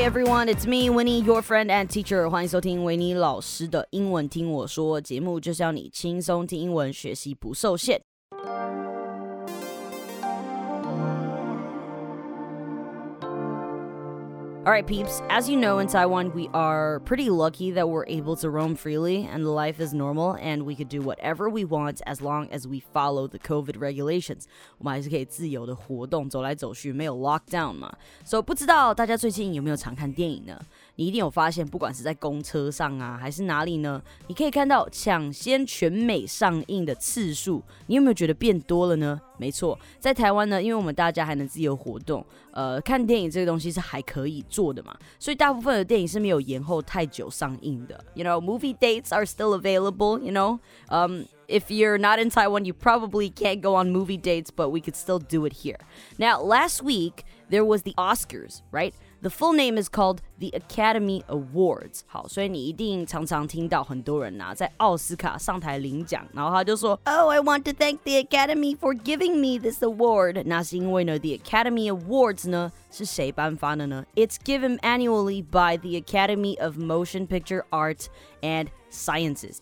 Hey everyone, it's me, Winnie, your friend and teacher. 欢迎收听维尼老师的英文听我说节目，就是要你轻松听英文，学习不受限。Alright peeps, as you know in Taiwan, we are pretty lucky that we're able to roam freely and life is normal and we could do whatever we want as long as we follow the COVID regulations. 我们还是可以自由的活动，走来走去，没有 lockdown 嘛。So 不知道大家最近有没有常看电影呢？你一定有发现，不管是在公车上啊，还是哪里呢，你可以看到抢先全美上映的次数，你有没有觉得变多了呢？没错，在台湾呢，因为我们大家还能自由活动，看电影这个东西是还可以做的嘛，所以大部分的电影是没有延后太久上映的。You know, movie dates are still available, you know? If you're not in Taiwan, you probably can't go on movie dates, but we could still do it here. Now, last week, there was the Oscars, right? The full name is called the Academy Awards. 好，所以你一定常常听到很多人啊，在奥斯卡上台领奖，然后他就说 Oh, I want to thank the Academy for giving me this award. 那是因为呢 the Academy Awards 呢是谁颁发的呢？ It's given annually by the Academy of Motion Picture Arts and Sciences,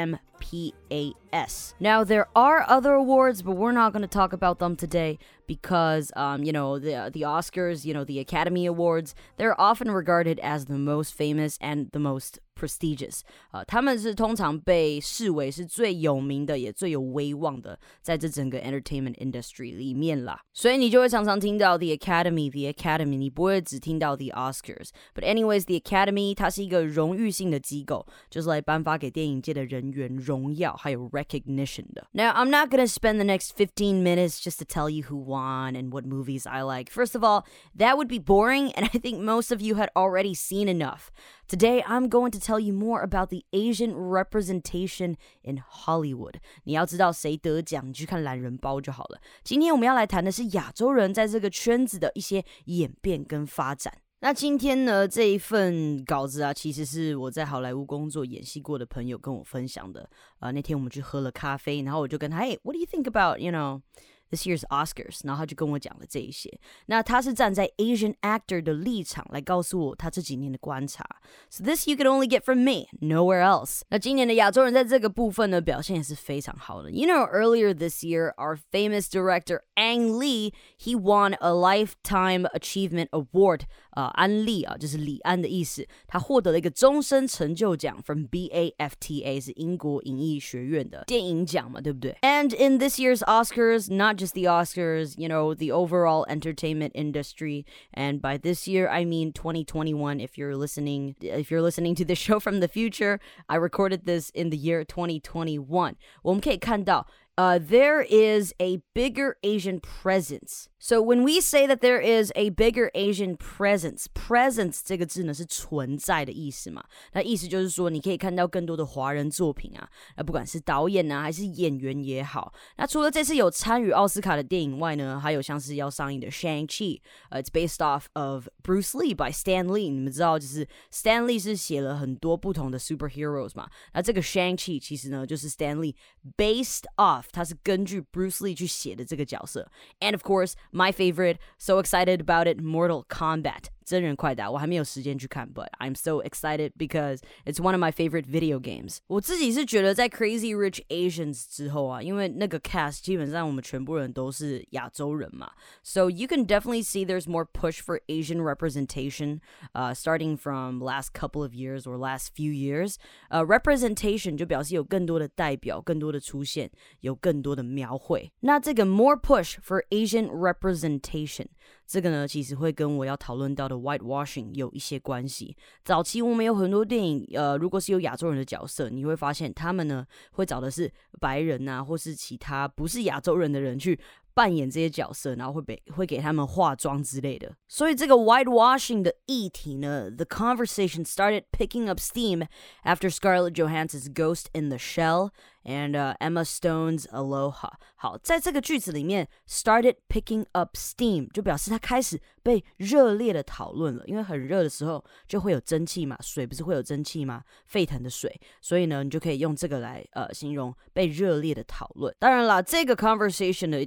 AMPAS. Now, there are other awards, but we're not going to talk about them today because, you know, the Oscars, you know, the Academy Awards, they're often regarded as the most famous and the most prestigious. 他们是通常被视为是最有名的也最有威望的，在这整个 entertainment industry 里面啦。所以你就会常常听到 the Academy, 你不会只听到 the Oscars. But anyways, the Academy 它是一个荣誉性的机构，就是来颁发给电影界的人员荣耀还有 recognition 的。Now, I'm not going to spend the next 15 minutes just to tell you who won and what movies I like. First of all, that would be boring, and I think most of you had already seen enough. Today, I'm going to tell you more about the Asian representation in Hollywood. 你要知道谁得奖，你去看懒人包就好了。今天我们要来谈的是亚洲人在这个圈子的一些演变跟发展。那今天呢，这一份稿子啊，其实是我在好莱坞工作演戏过的朋友跟我分享的。那天我们去喝了咖啡，然后我就跟他 Hey, what do you think about, you know,this year's Oscars, 然后他就跟我讲了这一些。那他是站在 Asian actor 的立场来告诉我他这几年的观察。So this you can only get from me, nowhere else. 那今年的亚洲人在这个部分呢，表现也是非常好的。You know, earlier this year, our famous director Ang Lee, he won a Lifetime Achievement Award. 安利啊，就是李安的意思。他获得了一个终身成就奖 from BAFTA, 是英国影艺学院的电影奖嘛，对不对？ And in this year's Oscars, not just the Oscars, you know, the overall entertainment industry. And by this year, I mean 2021. If you're listening to this show from the future, I recorded this in the year 2021. 我们可以看到there is a bigger Asian presence. So when we say that there is a bigger Asian presence 这个字呢是存在的意思嘛，那意思就是说你可以看到更多的华人作品啊，不管是导演啊还是演员也好。那除了这次有参与奥斯卡的电影外呢，还有像是要上映的 Shang-Chi, it's based off of Bruce Lee by Stan Lee. 你们知道就是 Stan Lee 是写了很多不同的 superheroes 嘛，那这个 Shang-Chi 其实呢就是 Stan Lee based off, 他是根据 Bruce Lee 去写的这个角色。And of course, my favorite, so excited about it, Mortal Kombat. 真人快打，我还没有时间去看 but I'm so excited because it's one of my favorite video games. 我自己是觉得在 Crazy Rich Asians 之后啊，因为那个 cast 基本上我们全部人都是亚洲人嘛， so you can definitely see there's more push for Asian representation, starting from last couple of years or last few years. Representation 就表示有更多的代表，更多的出现，有更多的描绘。那这个 more push for Asian representation 这个呢，其实会跟我要讨论到的 whitewashing 有一些关系。早期我们有很多电影，如果是有亚洲人的角色，你会发现他们呢会找的是白人啊，或是其他不是亚洲人的人去扮演这些角色，然后会给他们化妆之类的。所以这个 whitewashing 的议题呢 the conversation started picking up steam after Scarlett Johansson's Ghost in the Shell and Emma Stone's Aloha. 好，在这个句子里面 started picking up steam 就表示它开始被热烈的讨论了，因为很热的时候就会有蒸汽嘛，水不是会有蒸汽吗？沸腾的水，所以呢你就可以用这个来形容被热烈的讨论。当然啦，这个 conversation 呢一定是在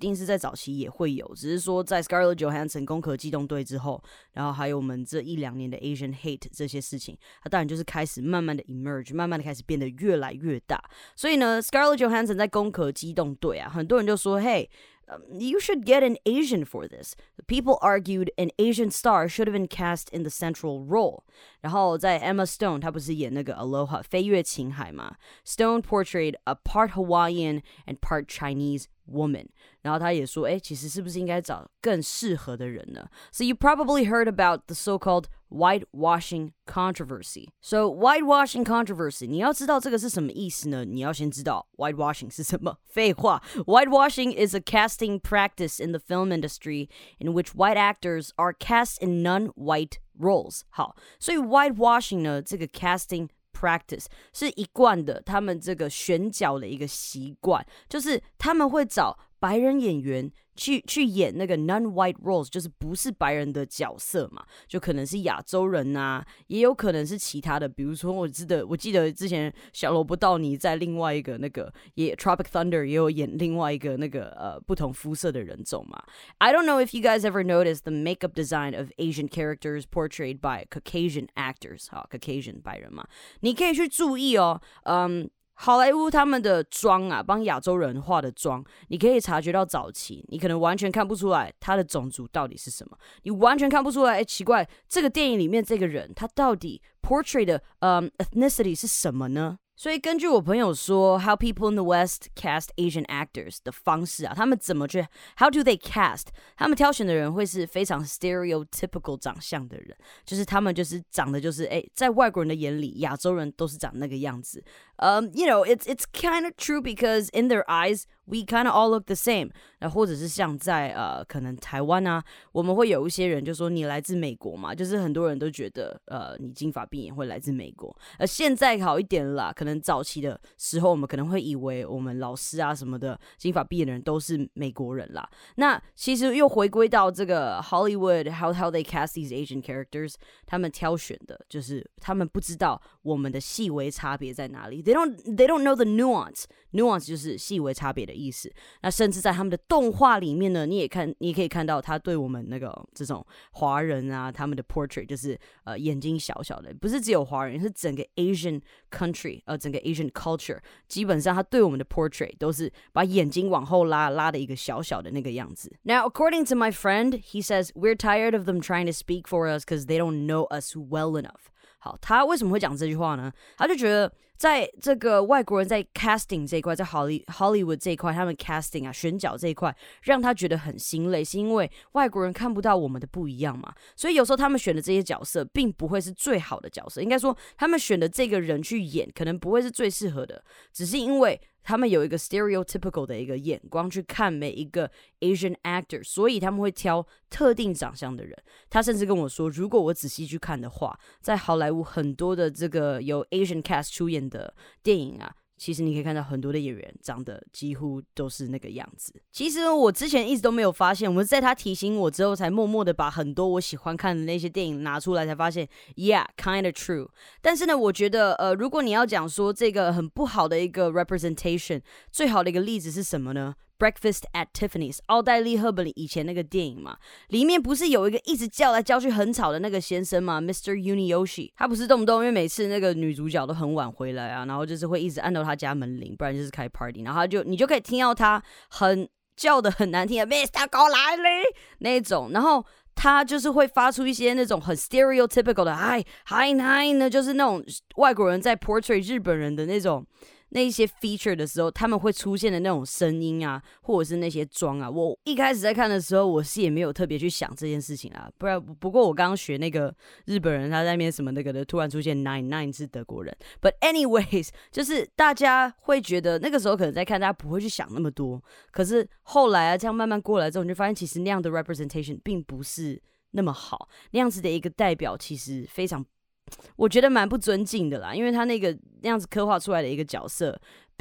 早期也会有，只是说在 Scarlett Johansson 攻壳机动队之后，然后还有我们这1-2年的 Asian hate 这些事情，它当然就是开始慢慢的 emerge， 慢慢的开始变得越来越大。所以呢 Scarlett Johansson 在攻壳机动队啊，很多人就说，Hey，you should get an Asian for this. People argued an Asian star should have been cast in the central role. 然后在 Emma Stone， 她不是演那个 Aloha 飞越情海嘛 ？Stone portrayed a part Hawaiian and part Chinese woman. 然后他也说，其实是不是应该找更适合的人呢？ So you probably heard about the so-called whitewashing controversy. So whitewashing controversy， 你要知道这个是什么意思呢？你要先知道 whitewashing 是什么。废话 ，whitewashing is a casting practice in the film industry in which white actors are cast in non-white roles. 好，所以 whitewashing 呢，这个 casting practice 是一贯的，他们这个选角的一个习惯，就是他们会找白人演员去演那个 non-white roles， 就是不是白人的角色嘛，就可能是亚洲人啊，也有可能是其他的，比如说我记得之前小萝卜道尼在另外一个那个也 Tropic Thunder 也有演另外一个那个不同肤色的人种嘛。I don't know if you guys ever noticed the makeup design of Asian characters portrayed by Caucasian actors， 好 Caucasian 白人嘛，你可以去注意哦，好莱坞他们的妆啊，帮亚洲人化的妆，你可以察觉到早期，你可能完全看不出来他的种族到底是什么，你完全看不出来，奇怪，这个电影里面这个人他到底 portray 的ethnicity 是什么呢？所以根据我朋友说 How people in the West cast Asian actors 的方式啊，他们怎么去 How do they cast 他们挑选的人会是非常 stereotypical 长相的人，就是他们就是长得就是在外国人的眼里亚洲人都是长那个样子。You know, it's kind of true because in their eyes we kind of all look the same。 那或者是像在可能台湾啊，我们会有一些人就说你来自美国嘛，就是很多人都觉得你金发碧眼会来自美国。现在好一点啦，可能早期的时候我们可能会以为我们老师啊什么的金发碧眼的人都是美国人啦。那其实又回归到这个 Hollywood how they cast these Asian characters， 他们挑选的就是他们不知道我们的细微差别在哪里。They don't know the nuance 就是细微差别的意思。那甚至在他们的动画里面呢，你也可以看到他对我们那个这种华人啊，他们的 portrait 就是眼睛小小的，不是只有华人，是整个 Asian country 整个 Asian culture， 基本上他对我们的 portrait 都是把眼睛往后拉的一个小小的那个样子。Now according to my friend, he says we're tired of them trying to speak for us because they don't know us well enough。好，他为什么会讲这句话呢？他就觉得在这个外国人在 casting 这一块，在 Hollywood 这一块，他们 casting 啊选角这一块，让他觉得很心累，是因为外国人看不到我们的不一样嘛。所以有时候他们选的这些角色，并不会是最好的角色，应该说他们选的这个人去演，可能不会是最适合的，只是因为他们有一个 stereotypical 的一个眼光去看每一个 Asian actor， 所以他们会挑特定长相的人。他甚至跟我说，如果我仔细去看的话，在好莱坞很多的这个由 Asian cast 出演的电影啊，其实你可以看到很多的演员长得几乎都是那个样子。其实我之前一直都没有发现，我是在他提醒我之后，才默默的把很多我喜欢看的那些电影拿出来，才发现 Yeah, kind of true。 但是呢，我觉得如果你要讲说这个很不好的一个 representation， 最好的一个例子是什么呢？Breakfast at Tiffany's 奥黛丽·赫本以前那个电影嘛，里面不是有一个一直叫来叫去很吵的那个先生吗 Mr. Uniyoshi， 他不是动不动因为每次那个女主角都很晚回来啊，然后就是会一直按到他家门铃，不然就是开 party， 然后你就可以听到他很叫的很难听的 Mr. 过来嘞那种，然后他就是会发出一些那种很 stereotypical 的hi 呢，就是那种外国人在 portray 日本人的那一些 feature 的时候，他们会出现的那种声音啊，或者是那些妆啊。我一开始在看的时候，我是也没有特别去想这件事情啊。不过我刚刚学那个日本人，他在那边什么那个的，突然出现 nine 是德国人。But anyways， 就是大家会觉得那个时候可能在看，大家不会去想那么多。可是后来啊，这样慢慢过来之后，你就发现其实那样的 representation 并不是那么好，那样子的一个代表其实非常。我觉得蛮不尊敬的啦，因为他那样子刻画出来的一个角色，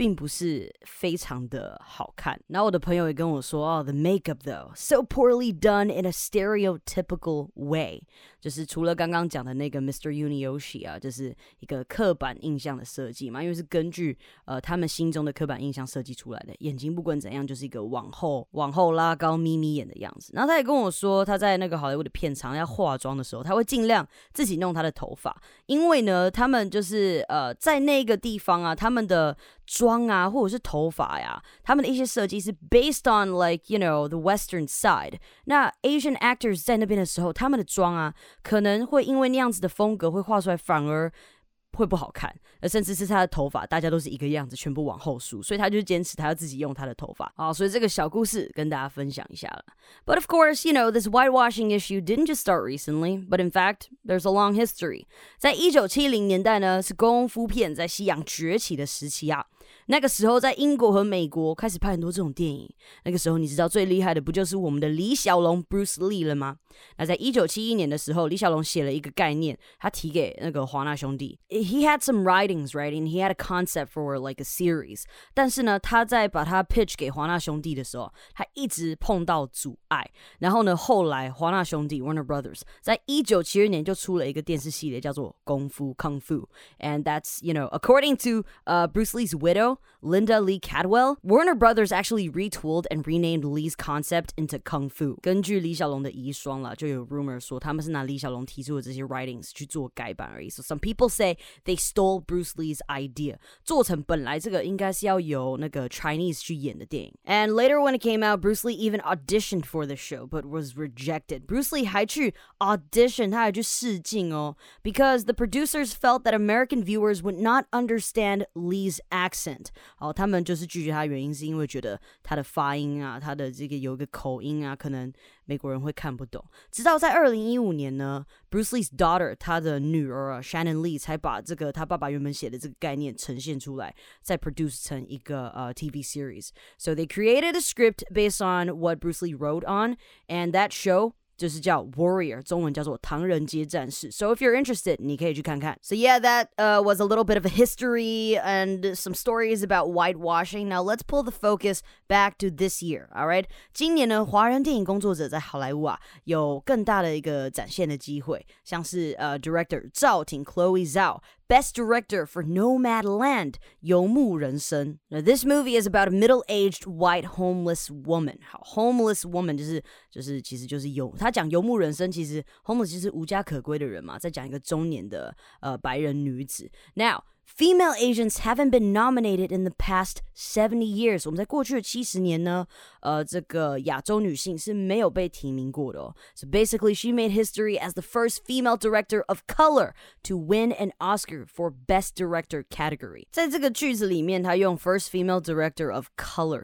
并不是非常的好看。然后我的朋友也跟我说the makeup though, so poorly done in a stereotypical way. 就是除了刚刚讲的那个 Mr. Uniyoshi 啊，就是一个刻板印象的设计嘛，因为是根据他们心中的刻板印象设计出来的，眼睛不管怎样就是一个往后拉高眯眯眼的样子。然后他也跟我说，他在那个好莱坞的片场要化妆的时候，他会尽量自己弄他的头发，因为呢，他们就是在那个地方啊，他们的妆啊，或者是头发呀，他们的一些设计是 based on like you know the Western side。那 Asian actors 在那边的时候，他们的妆啊，可能会因为那样子的风格会画出来，反而会不好看，甚至是他的头发大家都是一个样子，全部往后梳，所以他就坚持他要自己用他的头发。好，所以这个小故事跟大家分享一下了。But of course, you know, this whitewashing issue didn't just start recently, but in fact, there's a long history. 在1970年代呢，是功夫片在西洋崛起的时期啊。那个时候在英国和美国开始拍很多这种电影，那个时候你知道最厉害的不就是我们的李小龙 Bruce Lee 了吗？那在1971年的时候，李小龙写了一个概念，他提给那个华纳兄弟。He had some writings, right? And he had a concept for like a series. 但是呢，他在把它 pitch 给华纳兄弟的时候，他一直碰到阻碍。然后呢，后来华纳兄弟 Warner Brothers 在1972年就出了一个电视系列，叫做功夫 Kung Fu. And that's, you know, according to Bruce Lee's widow, Linda Lee Cadwell, Warner Brothers actually retooled and renamed Lee's concept into Kung Fu. 根据李小龙的遗孀啦，就有 rumor 说他们是拿李小龙提出的这些 writings 去做改版而已。So some people say they stole Bruce Lee's idea. 做成本来这个应该是要由那个 Chinese 去演的电影。And later when it came out, Bruce Lee even auditioned for the show, but was rejected. Bruce Lee 还去 audition, 他还去试镜哦 because the producers felt that American viewers would not understand Lee's accent. 好，他们就是拒绝他的原因是因为觉得他的发音啊，他的这个有一个口音啊，可能美国人会看不懂。直到在2015年呢 Bruce Lee's daughter 他的女儿啊 Shannon Lee 才把这个他爸爸原本写的这个概念呈现出来，再 produce 成一个TV series. So they created a script based on what Bruce Lee wrote on, and that show就是叫 Warrior, 中文叫做唐人街战士。So if you're interested, 你可以去看看。So yeah, that was a little bit of a history and some stories about whitewashing. Now let's pull the focus back to this year, alright? 今年呢，华人电影工作者在好莱坞啊，有更大的一个展现的机会，像是director 赵婷 Chloe Zhao。Best Director for Nomadland, 游牧人生。Now, this movie is about a middle-aged white homeless woman. 好 homeless woman 其实就是他讲游牧人生，其实 homeless 就是无家可归的人嘛，在讲一个中年的白人女子。Now, female Asians haven't been nominated in the past 70 years. 我们在过去的70年呢，这个亚洲女性是没有被提名过的哦。So basically, she made history as the first female director of color to win an Oscar for Best Director category. 在这个句子里面，她用 first female director of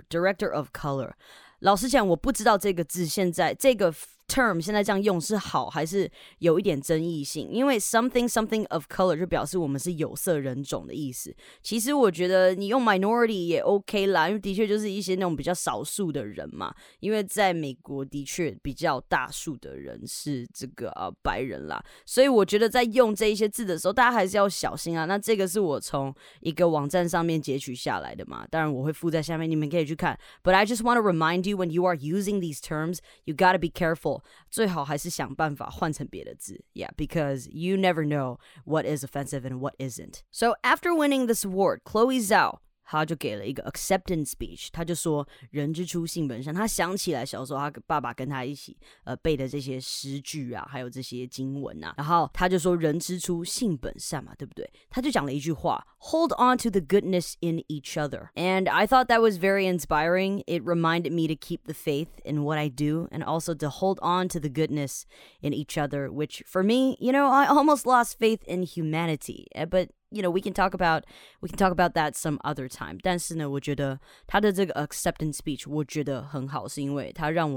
color. 老实讲，我不知道这个字现在这个term 现在这样用是好还是有一点争议性，因为 something of color 就表示我们是有色人种的意思。其实我觉得你用 minority 也 OK 啦，因为的确就是一些那种比较少数的人嘛。因为在美国的确比较大数的人是这个白人啦，所以我觉得在用这一些字的时候，大家还是要小心啊。那这个是我从一个网站上面截取下来的嘛，当然我会附在下面，你们可以去看。But I just want to remind you when you are using these terms, you gotta be careful. 最好还是想办法换成别的字 Yeah, because you never know what is offensive and what isn't. So after winning this award, Chloe Zhao他就给了一个 acceptance speech， 他就说人之初性本善，他想起来小时候他爸爸跟他一起背的这些诗句啊，还有这些经文啊，然后他就说人之初性本善嘛，对不对？他就讲了一句话 Hold on to the goodness in each other. And I thought that was very inspiring. It reminded me to keep the faith in what I do and also to hold on to the goodness in each other, which for me, you know, I almost lost faith in humanity. But you know, we can talk about that some other time. 但是呢，我觉得他的这个 acceptance speech 我觉得很好，是因为他让我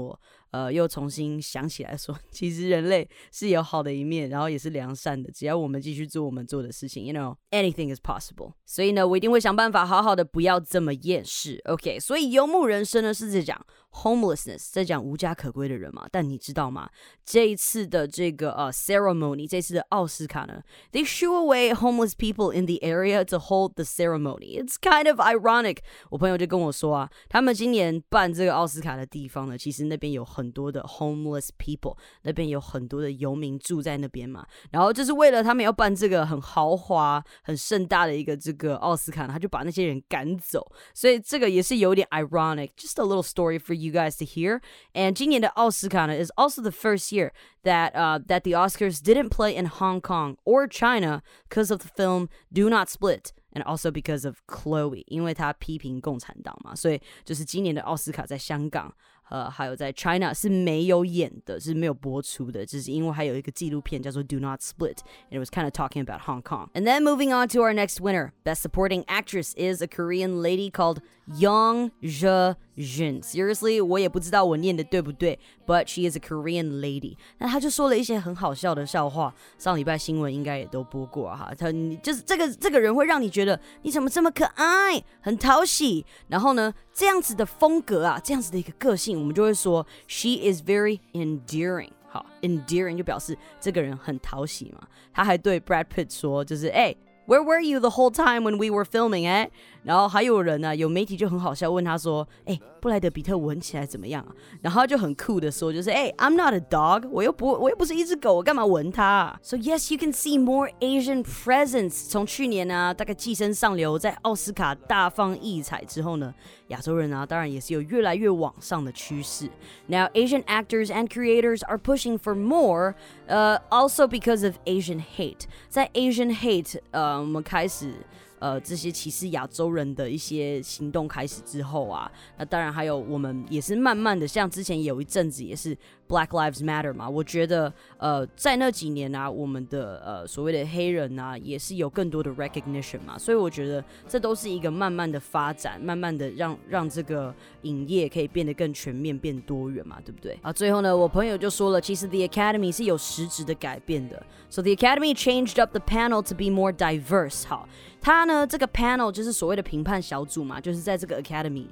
又重新想起来说，其实人类是有好的一面，然后也是良善的，只要我们继续做我们做的事情 you know anything is possible。 所以呢，我一定会想办法好好的不要这么厌世。 OK， 所以游牧人生呢是在讲 homelessness， 在讲无家可归的人嘛。但你知道吗，这一次的这个ceremony， 这次的奥斯卡呢， they shoo away homeless people in the area to hold the ceremony. It's kind of ironic。 我朋友就跟我说啊，他们今年办这个奥斯卡的地方呢，其实那边有很多的 homeless people， 那边有很多的游民住在那边嘛，然后就是为了他们要办这个很豪华很盛大的一个这个奥斯卡呢，他就把那些人赶走，所以这个也是有点 ironic。 Just a little story for you guys to hear. And 今年的奥斯卡呢 is also the first year that the Oscars didn't play in Hong Kong or China because of the film Do Not Split.And also because of Chloe， 因为他批评共产党嘛，所以就是今年的奥斯卡在香港还有在 China 是没有演的，是没有播出的，就是因为还有一个纪录片叫做 Do Not Split and it was kind of talking about Hong Kong. And then moving on to our next winner, Best Supporting Actress is a Korean lady called Young Je-jin. Seriously, 我也不知道我念的对不对 but she is a Korean lady. 那她就说了一些很好笑的笑话，上礼拜新闻应该也都播过哈。她就是这个人会让你觉得你怎么这么可爱，很讨喜，然后呢这样子的风格啊，这样子的一个个性，我们就会说 she is very endearing。好 endearing 就表示这个人很讨喜嘛。他还对 Brad Pitt 说，就是where were you the whole time when we were filming, eh? 然后还有人呢，有媒体就很好笑问他说，布莱德比特闻起来怎么样啊？然后他就很酷的说，就是I'm not a dog， 我又不是一只狗，我干嘛闻它啊？ So yes, you can see more Asian presence。 从去年啊，大概寄生上流在奥斯卡大放异彩之后呢，亚洲人啊，当然也是有越来越往上的趋势。Now Asian actors and creators are pushing for more, also because of Asian hate。 在 Asian hate， 我们开始。这些歧视亚洲人的一些行动开始之后啊，那当然还有我们也是慢慢的，像之前有一阵子也是 Black Lives Matter 嘛，我觉得在那几年啊，我们的所谓的黑人啊，也是有更多的 recognition 嘛，所以我觉得这都是一个慢慢的发展，慢慢的让这个影业可以变得更全面、变多元嘛，对不对？啊，最后呢，我朋友就说了，其实 The Academy 是有实质的改变的。So the Academy changed up the panel to be more diverse。 好，他呢这个 panel 就是所谓的评判小组嘛，就是在这个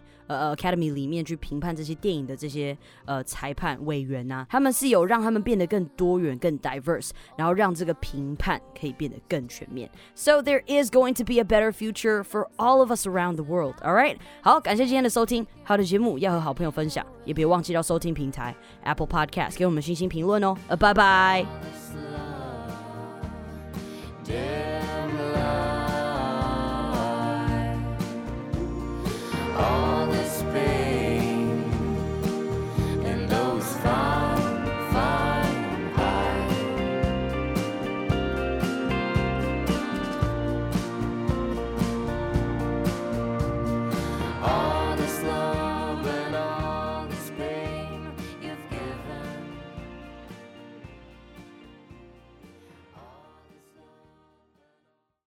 Academy 里面去评判这些电影的这些裁判委员啊，他们是有让他们变得更多元、更 diverse， 然后让这个评判可以变得更全面。So there is going to be a better future for all of us around the world. All right， 好，感谢今天的收听。好的节目要和好朋友分享，也别忘记到收听平台 Apple Podcast 给我们星星评论哦。拜拜。